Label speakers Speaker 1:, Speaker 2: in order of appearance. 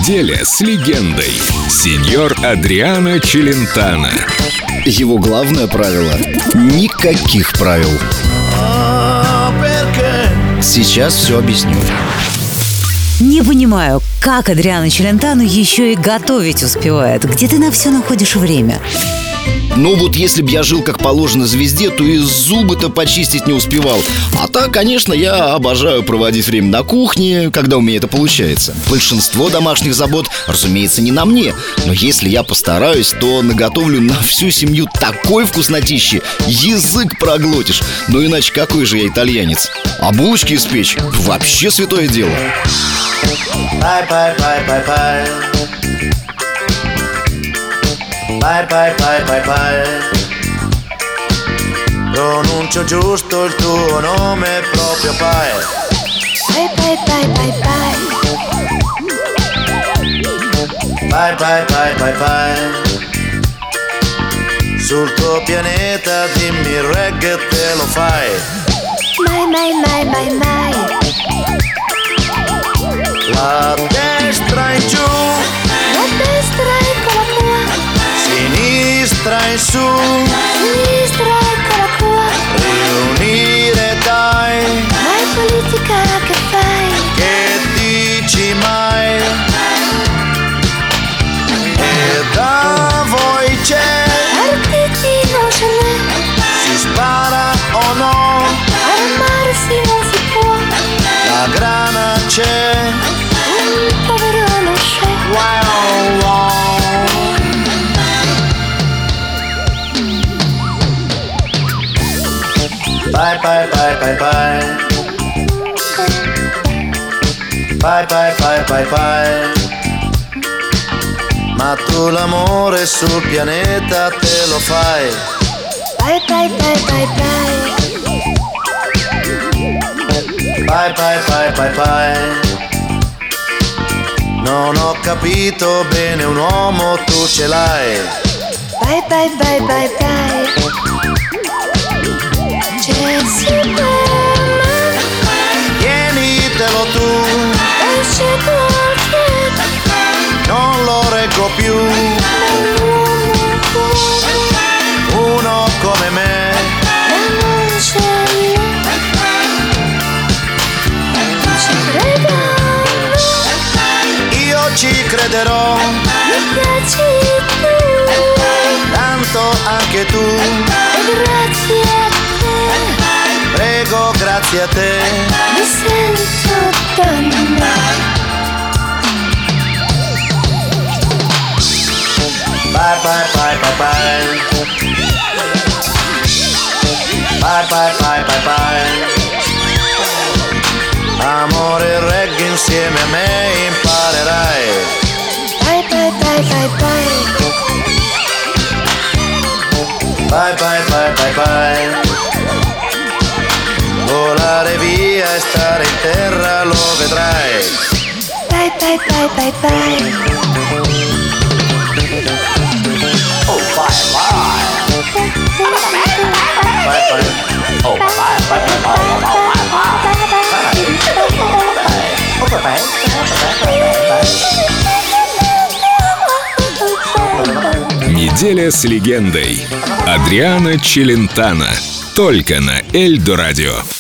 Speaker 1: Неделя с легендой. Сеньор Адриано Челентано.
Speaker 2: Его главное правило – никаких правил. Сейчас все объясню.
Speaker 3: Не понимаю, как Адриано Челентано еще и готовить успевает. Где ты на все находишь время?
Speaker 2: Ну вот если бы я жил как положено звезде, то и зубы-то почистить не успевал. А так, конечно, я обожаю проводить время на кухне, когда у меня это получается. Большинство домашних забот, разумеется, не на мне. Но если я постараюсь, то наготовлю на всю семью такой вкуснотищи, язык проглотишь. Ну иначе какой же я итальянец? А булочки испечь – вообще святое дело.
Speaker 4: Pai, pai, pai, pai, pai. Pronuncio giusto il tuo nome proprio pai.
Speaker 5: Pai, pai, pai, pai, pai.
Speaker 4: Pai, pai, pai, pai, pai. Sul tuo pianeta dimmi il reggae te lo fai.
Speaker 5: Mai, mai, mai, mai, mai.
Speaker 4: La destra in giù,
Speaker 5: La destra eccola qua,
Speaker 4: sinistra in su,
Speaker 5: sinistra eccola qua.
Speaker 4: riunire dai,
Speaker 5: Mai politica che fai?
Speaker 4: che dici mai? E da voi c'è,
Speaker 5: Partiti non ce n'è,
Speaker 4: si spara o no?
Speaker 5: armarsi non si può.
Speaker 4: La grana c'è,
Speaker 5: Un povero non c'è.
Speaker 4: wow, wow. Pai, pai, pai, pai, pai. Pai, pai, pai, pai, pai. Ma tu l'amore sul pianeta te lo fai.
Speaker 5: Pai, pai, pai, pai, pai.
Speaker 4: Pai, pai, pai, pai, pai. Non ho capito bene un uomo, tu ce l'hai.
Speaker 5: Pai, pai, pai, pai, pai. C'è Superman,
Speaker 4: Tienitelo tu,
Speaker 5: esce qualche
Speaker 4: non lo reggo più. Uno come me,
Speaker 5: non c'è ci credo,
Speaker 4: io ci crederò,
Speaker 5: mi piaci tu,
Speaker 4: tanto anche tu.
Speaker 5: e grazie a te
Speaker 4: Prego, grazie a te.
Speaker 5: mi sento donna.
Speaker 4: Bye, bye, bye, bye, bye. Bye, bye, bye, bye, bye. Amore e reggae insieme a me imparerai.
Speaker 5: Bye, bye, bye, bye, bye.
Speaker 4: Bye, bye, bye, bye, bye. Volare via e stare in terra lo vedrai.
Speaker 5: Bye, bye, bye, bye, bye.
Speaker 4: Oh, bye, bye. Bye, bye. Oh, bye, bye, bye, bye. Oh, bye, bye.
Speaker 1: Неделя с легендой. Адриано Челентано. Только на Эльдо Радио.